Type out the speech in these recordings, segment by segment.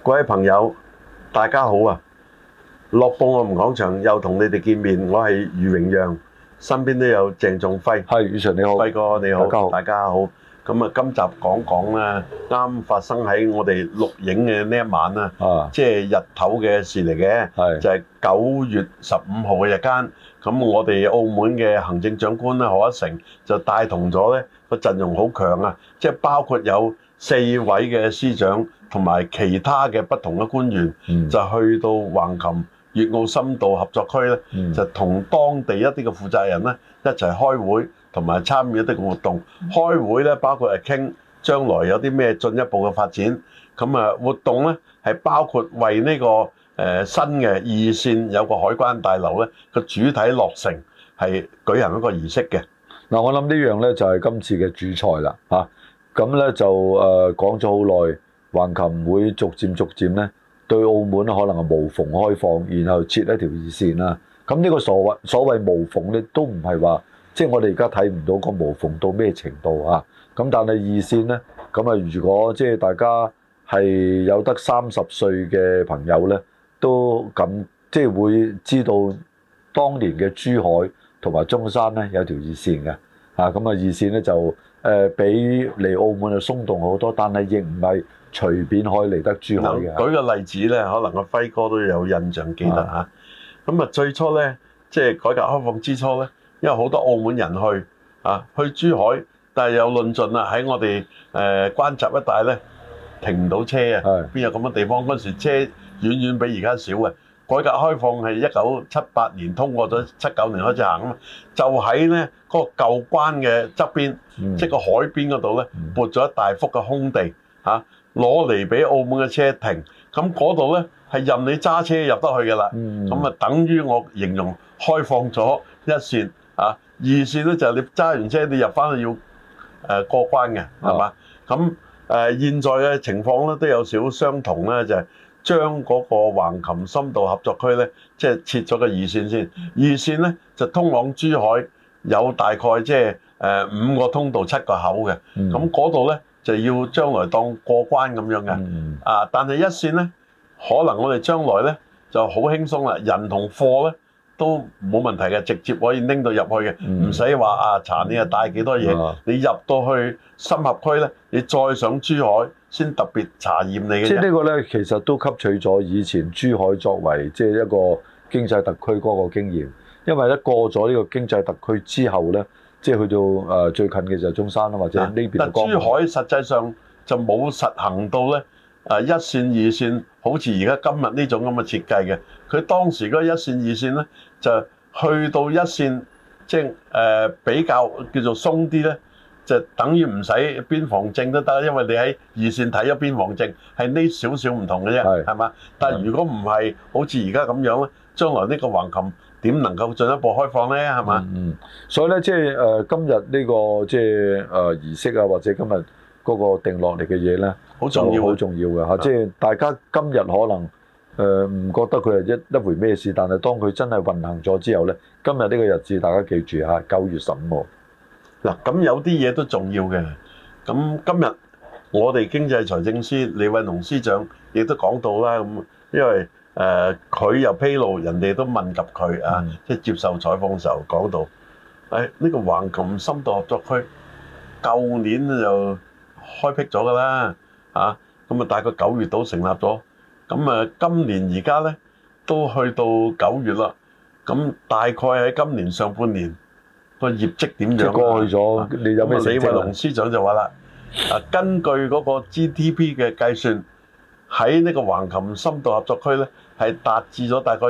各位朋友，大家好啊！樂報我們講場又同你哋見面，我係余榮讓，身邊都有鄭仲輝。 係，余 Sir 你好， 輝哥你好， 大家好， 大家好。咁啊，今集講講咧，啱發生喺我哋錄影嘅呢一晚啊，即係日頭嘅事嚟嘅，就係9月15號嘅日間。咁我哋澳門嘅行政長官咧賀一誠就帶同咗咧個陣容好強啊，即係包括有4位嘅司長同埋其他嘅不同嘅官員，就去到橫琴粵澳深度合作區咧，就同當地一啲嘅負責人咧一齊開會，同埋參與一啲嘅活動。開會咧包括係傾將來有啲咩進一步嘅發展。咁啊活動咧係包括為呢個新嘅二線有個海關大樓咧個主體落成係舉行一個儀式嘅。 嗱，我諗呢樣咧就係今次嘅主菜啦嚇。咁咧就講咗好耐，橫琴會逐漸咧對澳門可能係無縫開放，然後設一條二線啦。咁呢個所謂無縫咧，都唔係話即係我哋而家睇唔到個無縫到咩程度啊。咁但係二線咧，咁啊如果即係大家係有得30歲嘅朋友咧，都咁即係會知道當年嘅珠海同埋中山咧有條二線嘅嚇。咁啊二線咧就比嚟澳門就鬆動好多，但係亦唔係隨便可以嚟得珠海嘅。 舉個例子咧，可能阿輝哥都有印象記得嚇。咁啊最初咧，即係改革開放之初咧，因為好多澳門人去珠海，但係有論盡啦，喺我哋關閘一帶咧停唔到車啊，邊有咁嘅地方？嗰時車遠遠比而家少嘅。改革開放係1978年通過咗，79年開始行啊嘛，就喺咧嗰個舊關嘅側邊，即係個海邊嗰度咧，撥咗一大幅嘅空地嚇，攞嚟俾澳門嘅車停。咁嗰度咧係任你揸車入得去嘅啦。咁啊，等於我形容開放咗一線啊，二線咧就係你揸完車你入翻去要過關嘅，係嘛？咁現在嘅情況咧都有少少相同咧，就係將嗰個橫琴深度合作區咧，即係設咗個二線先。二線咧就通往珠海有大概即係5個通道7個口嘅。咁嗰度咧就要將來當過關咁樣嘅。但係一線咧，可能我哋將來咧就好輕鬆啦，人同貨咧都冇問題嘅，直接可以拎到入去嘅，唔使話查你帶幾多嘢。你入到去深合區咧，你再上珠海先特別查驗你嘅。即係呢個咧，其實都吸取咗以前珠海作為即係一個經濟特區嗰個經驗。因為咧過咗呢個經濟特區之後咧，即係去到最近嘅就係中山啦，或者呢邊。但珠海實際上就冇實行到咧一線二線，好似而家今日呢種咁嘅設計嘅。佢當時嗰一線二線咧，就去到一線，即係比較叫做鬆啲咧。就等於唔使邊防證都得，因為你喺二線睇咗邊防證，係呢少少唔同嘅啫，係嘛？但係如果唔係好似而家咁樣咧，將來呢個橫琴點能夠進一步開放咧？係嘛？所以咧，即係今日呢個即係儀式啊，或者今日嗰個定落嚟嘅嘢咧，好重要，好重要嘅嚇。即係大家今日可能唔覺得佢係一回咩事，但係當佢真係運行咗之後咧，今日呢個日子大家記住嚇，9月15號。嗱，咁有啲嘢都重要嘅。咁今日我哋經濟財政司李偉農司長亦都講到啦。咁因為佢又披露，人哋都問及佢啊，即係接受採訪嘅時候講到，呢個橫琴深度合作區舊年就開闢咗㗎啦，咁啊大概9月度成立咗。咁啊今年而家咧都去到9月啦。咁大概喺今年上半年個業績點樣？即係過去咗，你有咩成績？李偉農司長就話啦，根據嗰個 GDP 嘅計算，喺呢個橫琴深度合作區咧，係達至咗大概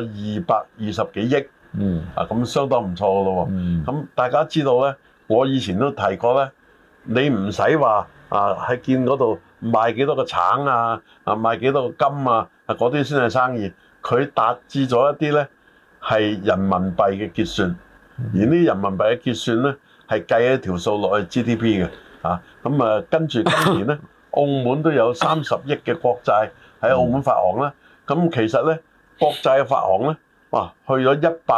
220幾億。咁相當唔錯㗎咯喎。咁大家知道咧，我以前都提過咧，你唔使話喺見嗰度賣幾多個橙賣幾多個金嗰啲先係生意。佢達至咗一啲咧係人民幣嘅結算。而呢人民幣嘅結算咧，係計一條數落去 GDP 嘅，咁跟住今年咧，澳門都有30億嘅國債喺澳門發行啦。咁其實咧，國債嘅發行咧，哇，去咗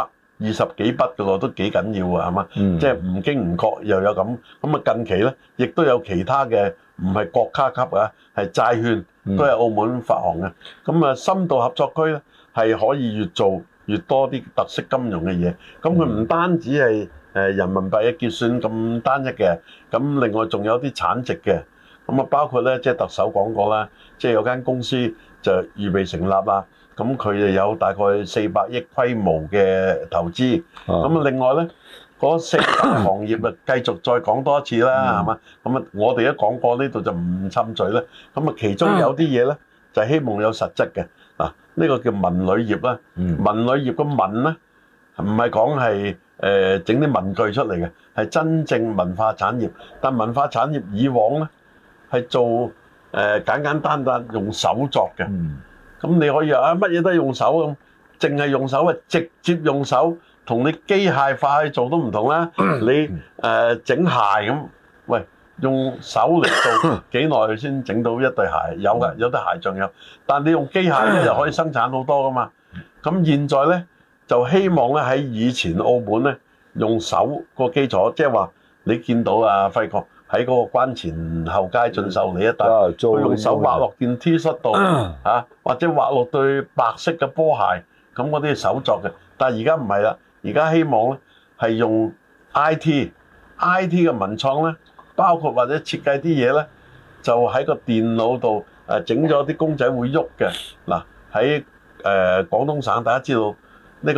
120幾筆嘅咯，都幾緊要啊，係嘛？即係唔經唔覺又有咁。咁啊近期咧，亦都有其他嘅唔係國家級啊，係債券都係澳門發行嘅。咁啊，深度合作區咧係可以越做越多啲特色金融嘅嘢。咁佢唔單止係人民幣嘅結算咁單一嘅，咁另外仲有啲產值嘅。咁啊，包括咧即係特首講過啦，即係有間公司就預備成立啦。咁佢就有大概400億規模嘅投資。咁啊，另外咧嗰4大行業啊，繼續再講多一次啦，係嘛？咁啊，我哋都講過呢度就唔侵嘴啦。咁啊，其中有啲嘢咧就係希望有實質嘅。嗱，呢個叫文旅業啦。文旅業嘅文咧唔係講係整啲文具出嚟嘅，係真正文化產業。但文化產業以往咧係做簡簡單單用手作嘅。咁你可以話乜嘢都係用手咁，淨係用手啊，直接用手同你機械化去做都唔同啦。你整鞋咁，喂，用手嚟做幾耐先整到一對鞋？有㗎，有啲鞋仲有。但你用機械咧，又可以生產好多㗎嘛。咁現在咧就希望咧喺以前澳門咧用手個基礎，即係話你見到啊輝哥喺嗰個關前後街進秀里一帶，佢用手畫落件 T 恤度或者畫落對白色嘅波鞋，咁嗰啲係手作嘅。但係而家唔係啦，而家希望咧係用 IT 嘅文創咧，包括或者設計啲嘢咧，就喺個電腦度整咗啲公仔會喐嘅。嗱，喺廣東省，大家知道呢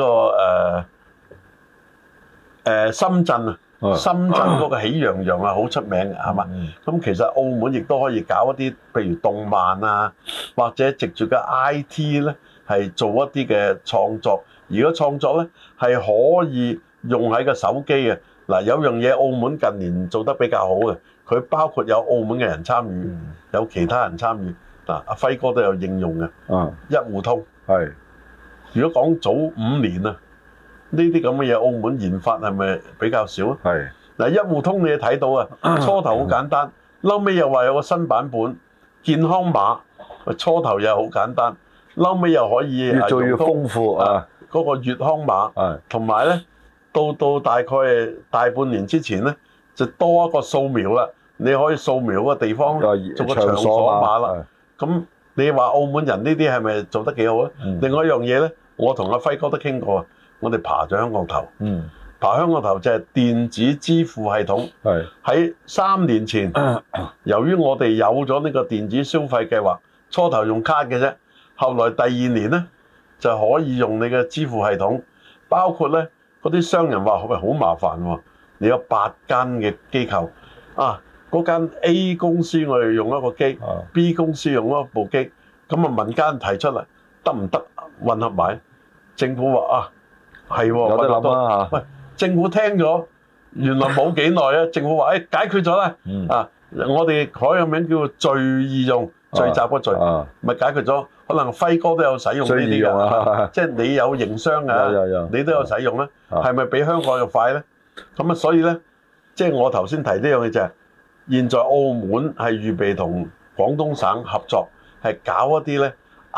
個深圳啊。深圳嗰個喜羊羊啊，好出名嘅，係嘛？咁其實澳門亦都可以搞一啲，譬如動漫啊，或者藉住嘅 IT 咧，係做一啲嘅創作。而個創作咧係可以用喺個手機嘅。嗱，有樣嘢澳門近年做得比較好嘅，佢包括有澳門嘅人參與，有其他人參與。嗱，阿輝哥都有應用嘅，一戶通。係，如果講早5年啊。呢啲咁嘅嘢，澳門研發係咪比較少啊？係嗱，一戶通你睇到啊，初頭好簡單，後尾又話有個新版本健康碼，初頭又好簡單，後尾又可以越做越豐富啊！ 嗰個粵康碼，同埋咧到大概大半年之前咧，就多一個掃描啦，你可以掃描個地方做個場所碼啦。咁你話澳門人呢啲係咪做得幾好咧？另外一樣嘢咧，我同阿輝哥都傾過啊。我哋爬咗香港頭，爬香港頭就係電子支付系統。喺3年前，由於我哋有咗呢個電子消費計劃，初頭用卡嘅啫，後來第2年咧就可以用你嘅支付系統，包括咧嗰啲商人話喂好麻煩喎，你有8間嘅機構啊，嗰間 A 公司我哋用一個機，B 公司用一部機，咁啊民間提出嚟得唔得混合埋？政府話啊。係喎，有得諗啦嚇。喂，政府聽咗，原來冇幾耐啊！政府話解決咗啦。我哋改個名叫做聚易用，聚集個聚，咪解決咗。可能輝哥都有使用呢啲㗎，即係你有營商㗎，你都有使用啦。係咪比香港又快咧？咁啊，所以咧，即係我頭先提呢樣嘢就係，現在澳門係預備同廣東省合作，係搞一啲咧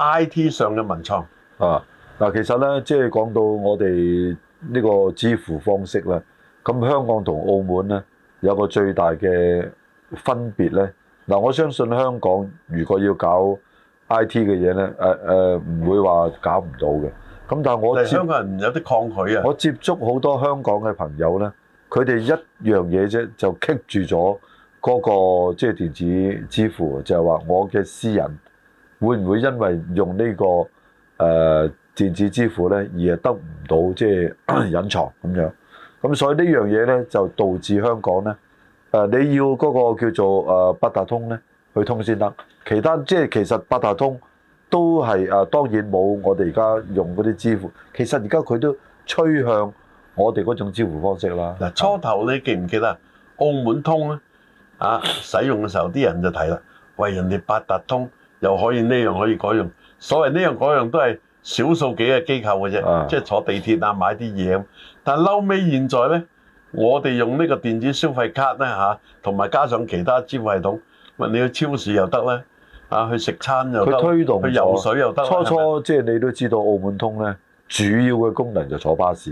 IT 上嘅文創。 嗱，其實咧，即係講到我哋呢個支付方式咧，咁香港同澳門咧有個最大嘅分別咧。嗱，我相信香港如果要搞 IT 嘅嘢咧，唔會話搞唔到嘅。咁但係我香港人有啲抗拒啊。 我接觸好多香港嘅朋友咧，佢哋一樣嘢啫，就棘住咗嗰個即係電子支付，就係話我嘅私人會唔會因為用呢個電子支付咧，而係得唔到即係隱藏咁樣，咁所以呢樣嘢咧就導致香港咧，你要嗰個叫做八達通咧去通先得，其他即係其實八達通都係當然冇我哋而家用嗰啲支付，其實而家佢都趨向我哋嗰種支付方式啦。 嗱，初頭你記唔記得澳門通咧使用嘅時候，啲人就提啦，喂，人哋八達通又可以呢樣可以嗰樣，所謂呢樣嗰樣都係少數幾個機構嘅啫，即係坐地鐵啊買啲嘢咁。但係後尾現在咧，我哋用呢個電子消費卡咧同埋加上其他支付系統，你去超市又得咧，去食餐又得， 佢推動去游水又得。 初即係你都知道澳門通咧，主要嘅功能就坐巴士嘅，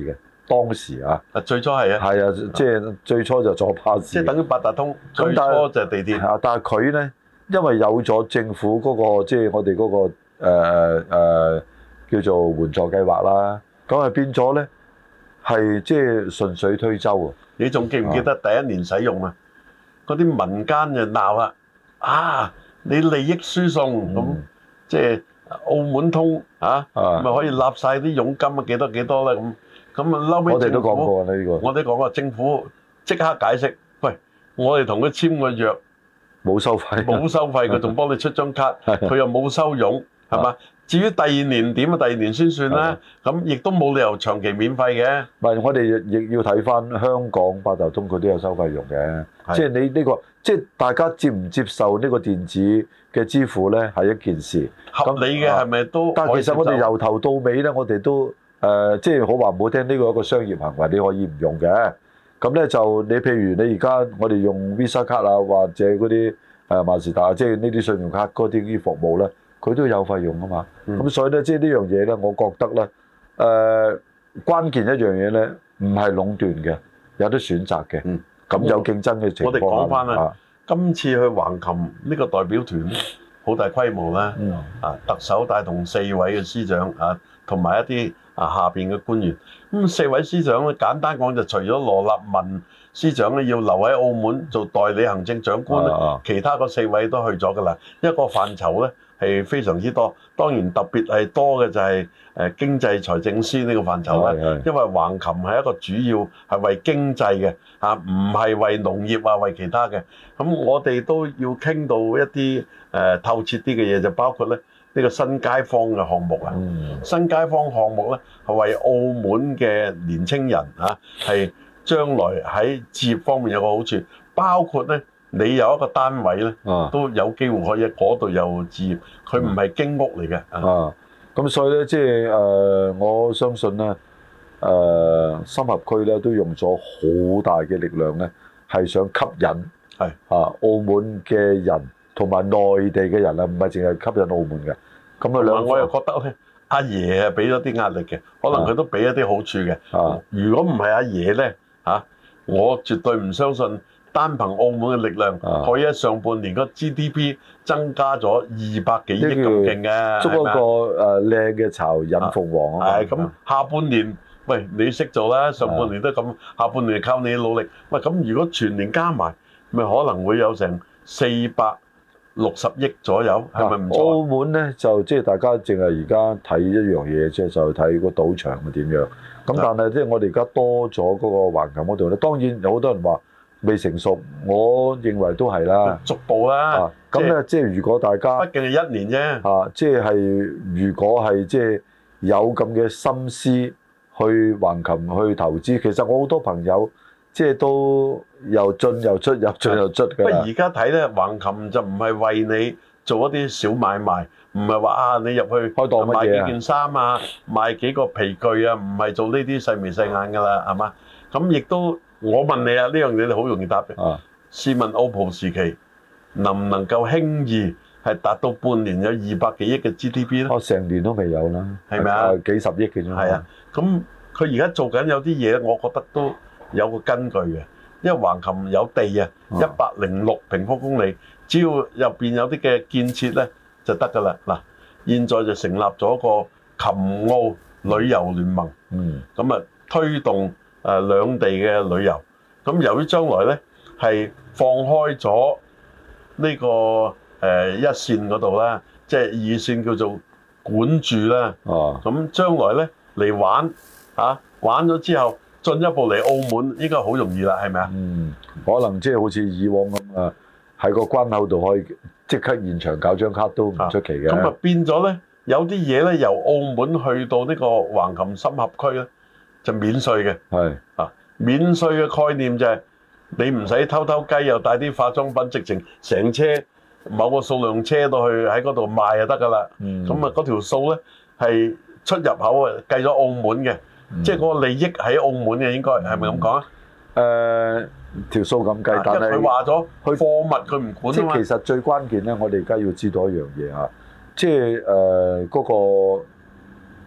當時啊， 最初係啊， 係啊，即係最初就坐巴士， 即係等於八達通，最初就係地鐵。 啊，但係佢咧，因為有咗政府嗰個即係我哋嗰個叫做援助計劃啦，咁啊變咗咧係即係順水推舟啊！ 你仲記唔記得第一年使用啊？嗰啲民間就鬧啦，你利益輸送咁，即係澳門通咪可以立晒啲佣金啊幾多幾多啦咁啊嬲尾我哋都講過呢個， 我哋講過政府即刻解釋，喂，我哋同佢簽個約冇收費， 冇收費，佢仲幫你出張卡，佢又冇收佣，係嘛？至於第二年點啊？第二年先算啦，咁亦都冇理由長期免費嘅。 唔係，我哋亦要睇翻香港八達通，佢都有收費用嘅。即係你呢個，即係大家接唔接受呢個電子嘅支付咧，係一件事。 合理嘅係咪都？ 但係其實我哋由頭到尾咧，我哋都即係好話唔好聽，呢個一個商業行為，你可以唔用嘅。咁咧就你譬如你而家我哋用 Visa 卡啊，或者嗰啲萬事達，即係呢啲信用卡嗰啲服務咧。佢都有費用啊嘛，咁所以咧，即係呢樣嘢咧，我覺得咧，關鍵一樣嘢咧，唔係壟斷嘅，有得選擇嘅，咁有競爭嘅情況。 我哋講翻啦，今次去橫琴呢個代表團好大規模啦，特首帶同4位嘅司長同埋一啲下邊嘅官員，咁4位司長咧，簡單講就除咗羅立文司長咧要留喺澳門做代理行政長官咧，其他嗰4位都去咗㗎啦，一個範疇咧。係非常之多，當然特別係多嘅就係經濟財政司呢個範疇啦。因為橫琴係一個主要係為經濟嘅唔係為農業啊，為其他嘅。咁我哋都要傾到一啲透徹啲嘅嘢，就包括咧呢個新街坊嘅項目啊。新街坊項目咧係為澳門嘅年青人係將來喺置業方面有個好處，包括咧。你有一個單位咧，都有機會可以喺嗰度有置業，佢唔係經屋嚟嘅。 咁所以咧，即係我相信咧，深合區咧都用咗好大嘅力量咧，係想吸引澳門嘅人同埋內地嘅人啊，唔係淨係吸引澳門嘅。咁啊， 我又覺得咧，阿爺係俾咗啲壓力嘅，可能佢都俾一啲好處嘅。如果唔係阿爺咧，我絕對唔相信。單憑澳門嘅力量，可以喺上半年個 GDP 增加咗200幾億咁勁嘅， 捉一個靚嘅巢引鳳凰啊！ 係咁，下半年喂你識做啦，上半年都咁，下半年靠你努力。喂，咁如果全年加埋，咪可能會有成460億左右，係咪唔錯？ 澳門咧就即係大家淨係而家睇一樣嘢，即係就睇個賭場係點樣。咁但係即係我哋而家多咗嗰個橫琴嗰度咧，當然有好多人話。未成熟，我認為都係啦， 逐步啦。 咁咧，即係如果大家， 畢竟係1年啫。 即係如果係即係有咁嘅心思去橫琴去投資，其實我好多朋友即係都又進又出，又進又出㗎。 不過而家睇咧，橫琴就唔係為你做一啲小買賣，唔係話你入去開檔買幾件衫啊，賣幾個皮具啊，唔係做呢啲細眉細眼㗎啦，係嘛？咁亦都。我問你啊，呢樣嘢你好容易答嘅。試問澳葡時期能唔能夠輕易係達到半年有200幾億嘅 GDP 咧？ 成年都未有啦， 係咪啊？ 幾十億嘅啫。 係啊，咁佢而家做緊有啲嘢，我覺得都有個根據嘅。因為橫琴有地啊，106平方公里，只要入邊有啲嘅建設咧就得㗎啦。嗱，現在就成立咗個琴澳旅遊聯盟，咁啊推動。兩地嘅旅遊，咁由於將來咧係放開咗呢個1線嗰度啦，即係2線叫做管住啦。咁將來咧嚟玩玩咗之後，進一步嚟澳門應該好容易啦，係咪啊？ 可能即係好似以往咁啊，喺個關口度可以即刻現場搞張卡都唔出奇嘅。 咁變咗咧，有啲嘢咧由澳門去到呢個橫琴深合區咧。就免稅嘅，免稅嘅概念就係你唔使偷偷雞，又帶啲化妝品，直情成車某個數量車到去喺嗰度賣就得㗎啦。咁嗰條數咧係出入口啊計咗澳門嘅，即係嗰個利益喺澳門嘅，應該係咪咁講啊？ 條數咁計，但係佢話咗貨物佢唔管啊嘛。 即係其實最關鍵咧，我哋而家要知道一樣嘢嚇，即係嗰個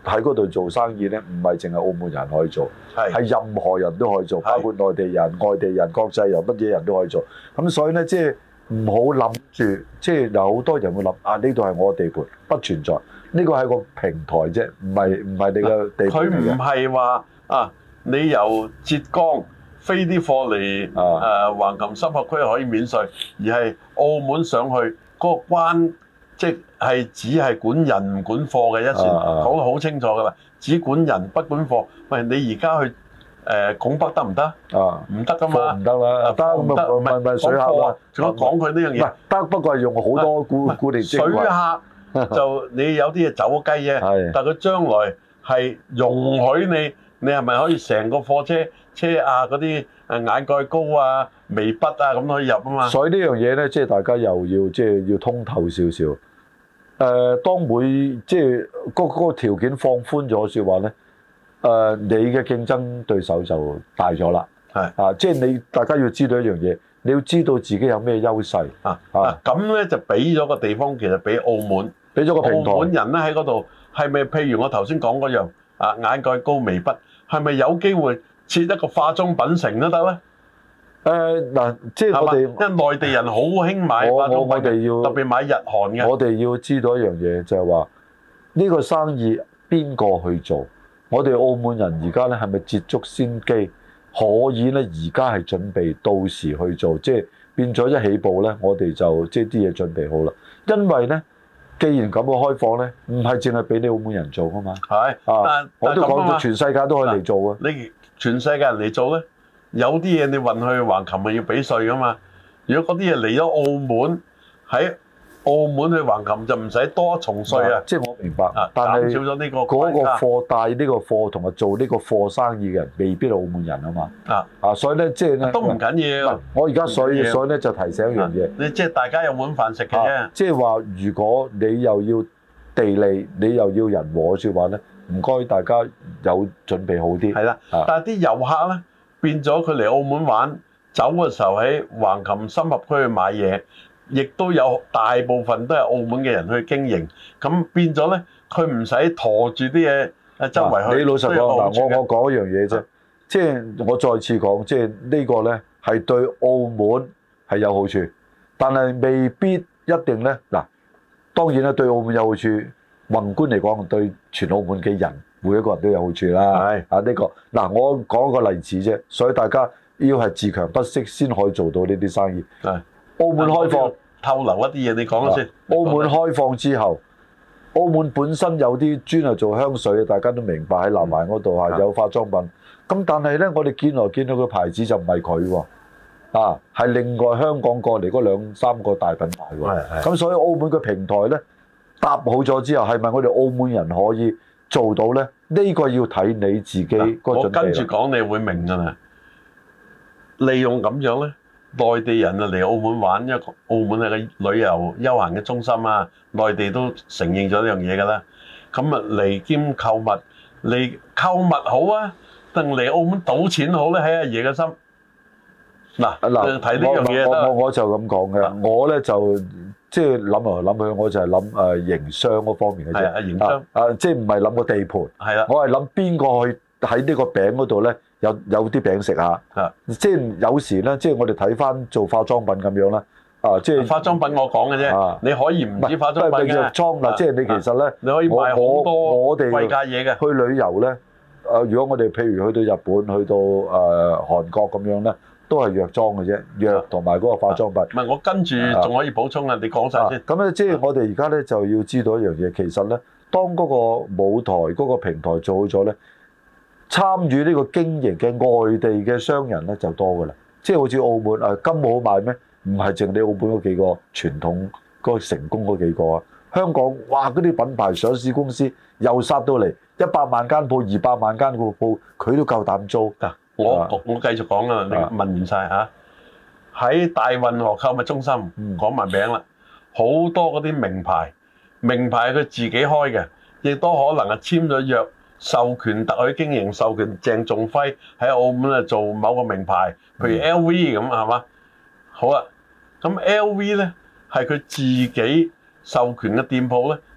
喺嗰度做生意咧，唔係淨係澳門人可以做，係任何人都可以做，包括內地人、外地人、國際人，乜嘢人都可以做。咁所以咧，即係唔好諗住，即係有好多人會諗啊，呢度係我地盤，不存在。呢個係個平台啫，唔係你嘅地盤。 佢唔係話啊，你由浙江飛啲貨嚟橫琴深合區可以免稅，而係澳門上去嗰個關，即係只係管人唔管貨嘅一船，講得好清楚㗎啦，只管人不管貨。喂，你而家去拱北得唔得？唔得㗎嘛， 唔得啦，得唔係水客啦。 仲有講佢呢樣嘢， 唔得，不過係用好多固定水客。就你有啲嘢走雞啫，但係佢將來係容許你係咪可以成個貨車啊嗰啲眼蓋膏啊、眉筆啊咁可以入啊嘛？ 所以呢樣嘢咧，即係大家又要即係要通透少少。當每即係嗰個條件放寬咗説話咧，你嘅競爭對手就大咗啦。即係大家要知道一樣嘢，你要知道自己有咩優勢咁咧就俾咗個地方，其實俾澳門。 俾咗個平台， 澳門人咧喺嗰度係咪？譬如我頭先講嗰樣眼蓋膏、眉筆，係咪有機會設一個化妝品城都得咧？ 嗱，即係我哋因為內地人好興買化妝品，特別買日韓嘅。 我哋要知道一樣嘢，就係話呢個生意邊個去做？我哋澳門人而家咧係咪捷足先機，可以咧而家係準備到時去做？即係變咗一起步咧，我哋就即係啲嘢準備好啦。因為咧。既然咁嘅開放咧，唔係淨係俾你澳門人做噶嘛？但我都講到全世界都可以嚟做啊！ 你全世界人嚟做咧，有啲嘢你運去橫琴咪要俾稅噶嘛？如果嗰啲嘢嚟咗澳門，喺澳門去橫琴就唔使多一重稅啊！ 即係我明白，但係少咗呢個嗰個貨帶呢個貨同埋做呢個貨生意嘅人未必係澳門人啊嘛。所以咧即係咧都唔緊要。 我而家所以咧就提醒一樣嘢， 你即係大家有碗飯食嘅啫。 即係話如果你又要地利，你又要人和嘅説話咧，唔該大家有準備好啲。 係啦，但係啲遊客咧變咗佢嚟澳門玩，走嘅時候喺橫琴深合區去買嘢。亦都有大部分都係澳門嘅人去經營，咁變咗咧，佢唔使馱住啲嘢周圍去。 你老實講嗱，我講一樣嘢啫，即係我再次講，即係呢個咧係對澳門係有好處，但係未必一定咧。嗱，當然啦，對澳門有好處，宏觀嚟講對全澳門嘅人每一個人都有好處啦。係呢個嗱，我講一個例子啫，所以大家要係自強不息先可以做到呢啲生意。澳門開放， 透露一啲嘢，你講先。 澳門開放之後，澳門本身有啲專係做香水嘅，大家都明白喺南環嗰度有化妝品。咁但係咧，我哋見來見到個牌子就唔係佢喎，係另外香港過嚟嗰兩三個大品牌喎。咁所以澳門嘅平台咧搭好咗之後，係咪我哋澳門人可以做到咧？呢個要睇你自己個準備。我跟住講，你會明㗎啦。利用咁樣咧。內地人啊嚟澳門玩，因為澳門係個旅遊休閒嘅中心啊，內地都承認咗呢樣嘢㗎啦。咁啊嚟兼購物，嚟購物好啊，定嚟澳門賭錢好咧？喺阿爺嘅心。嗱，睇呢樣嘢我就咁講嘅，我咧就即係諗嚟諗去，我就係諗營商嗰方面嘅啫。 營商即係唔係諗個地盤？ 係啦， 我係諗邊個去喺呢個餅嗰度咧？有啲餅食下，即係有時咧，即係我哋睇翻做化妝品咁樣啦，即係化妝品我講嘅啫，你可以唔止化妝品嘅， 即係你其實咧， 你可以買好多我哋貴價嘢嘅。 去旅遊咧，如果我哋譬如去到日本、去到韓國咁樣咧，都係藥妝嘅啫，藥同埋嗰個化妝品。 唔係我跟住仲可以補充啊，你講晒先。 咁咧，即係我哋而家咧就要知道一樣嘢，其實咧，當嗰個舞台、嗰個平台做好咗咧。參與呢個經營嘅外地嘅商人咧就多㗎啦，即係好似澳門金冇好賣咩？唔係淨你澳門嗰幾個傳統嗰個成功嗰幾個啊，香港哇嗰啲品牌上市公司又殺到嚟100萬間鋪、200萬間個鋪，佢都夠膽租。 我繼續講啦，你問完晒嚇。喺大運河購物中心講埋名啦，好多嗰啲名牌係佢自己開嘅，亦都可能係簽咗約。授權特許經營，授權鄭仲輝喺澳門做某個名牌，譬如 LV 咁係嘛？好啦，咁 LV 咧係佢自己授權嘅店鋪咧，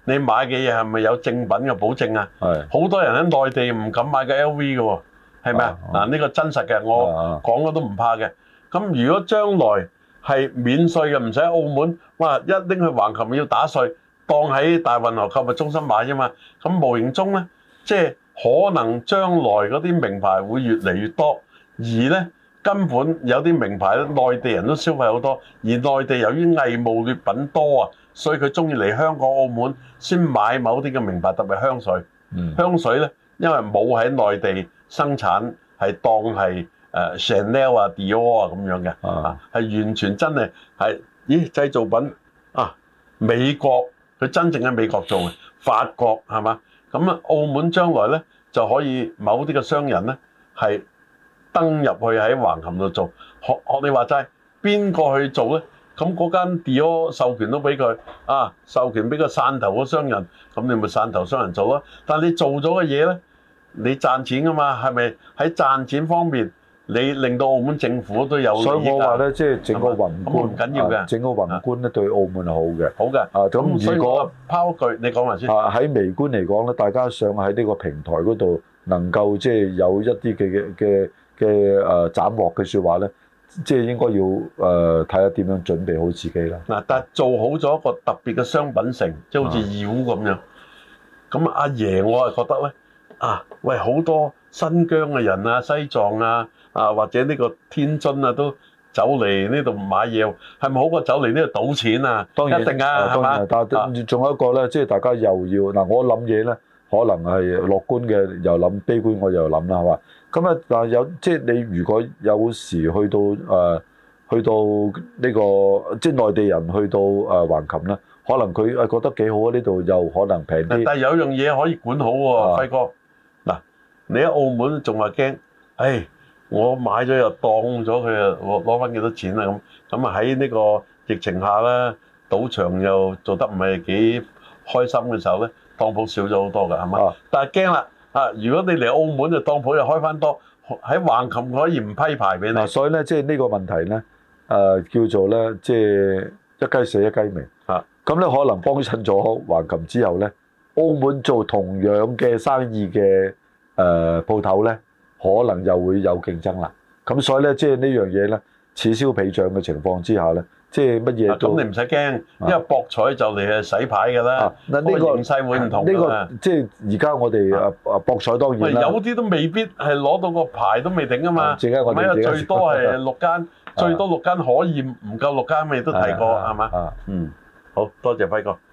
你買嘅嘢係咪有正品嘅保證啊？好多人喺內地唔敢買個 LV 嘅喎，係咪啊？嗱，呢個真實嘅，我講咗都唔怕嘅。咁如果將來係免稅嘅，唔使喺澳門，哇！一拎去橫琴要打稅，當喺大運河購物中心買啫嘛。咁無形中咧，即係可能將來嗰啲名牌會越嚟越多，而咧根本有啲名牌咧，內地人都消費好多，而內地由於偽冒劣品多啊，所以佢中意嚟香港、澳門先買某啲嘅名牌，特別香水。香水咧，因為冇喺內地生產，係當係Chanel 啊、Dior 啊咁樣嘅，係完全真係製造品啊！美國佢真正喺美國做嘅，法國係嘛？咁啊，澳門將來咧就可以某啲嘅商人咧係登入去喺橫琴度做，學你話齋，邊個去做咧？咁嗰間 Dior 授權都俾佢授權俾個汕頭嘅商人，咁你咪汕頭商人做咯。但係你做咗嘅嘢咧，你賺錢噶嘛？係咪喺賺錢方面，你令到澳門政府都有利益？ 所以我話咧，即係整個宏觀唔緊要嘅， 整個宏觀咧對澳門係好嘅。 好嘅。咁如果拋句，你講埋先。 喺微觀嚟講咧，大家想喺呢個平台嗰度能夠即係有一啲嘅斬獲嘅説話咧。即係應該要睇下點樣準備好自己啦。嗱， 但係做好咗一個特別嘅商品城，即係好似妖咁樣。咁阿爺我係覺得咧，喂好多新疆嘅人啊、西藏啊、或者呢個天津啊都走嚟呢度買嘢，係咪好過走嚟呢度賭錢啊？當然一定啊，係嘛？ 但係仲有一個咧，即係大家又要嗱，我諗嘢咧，可能係樂觀嘅，又諗悲觀，我又諗啦，係嘛？咁啊，但係即係你如果有時去到呢個即係內地人去到橫琴咧，可能佢覺得幾好啊，呢度又可能平啲。 但係有樣嘢可以管好喎，輝哥。嗱，你喺澳門仲話驚，我買咗又當咗佢啊，攞翻幾多錢啊咁啊喺呢個疫情下咧，賭場又做得唔係幾開心嘅時候咧，當鋪少咗好多㗎，係嘛？但係驚啦。如果你嚟澳門就當鋪又開翻多，喺橫琴可以唔批牌俾你。 所以咧，即係呢個問題咧，叫做咧，即係一雞死一雞鳴。咁咧可能幫襯咗橫琴之後咧，澳門做同樣嘅生意嘅鋪頭咧，可能又會有競爭啦。咁所以咧，即係呢樣嘢咧，此消彼長嘅情況之下咧。即係乜嘢都咁你唔使驚，因為博彩就嚟係洗牌㗎啦。嗱呢個形勢會唔同㗎。呢個即係而家我哋博彩當然啦。 有啲都未必係攞到個牌都未定啊嘛。最多係6間，最多6間可以唔夠6間，你都提過係嘛？好多謝輝哥。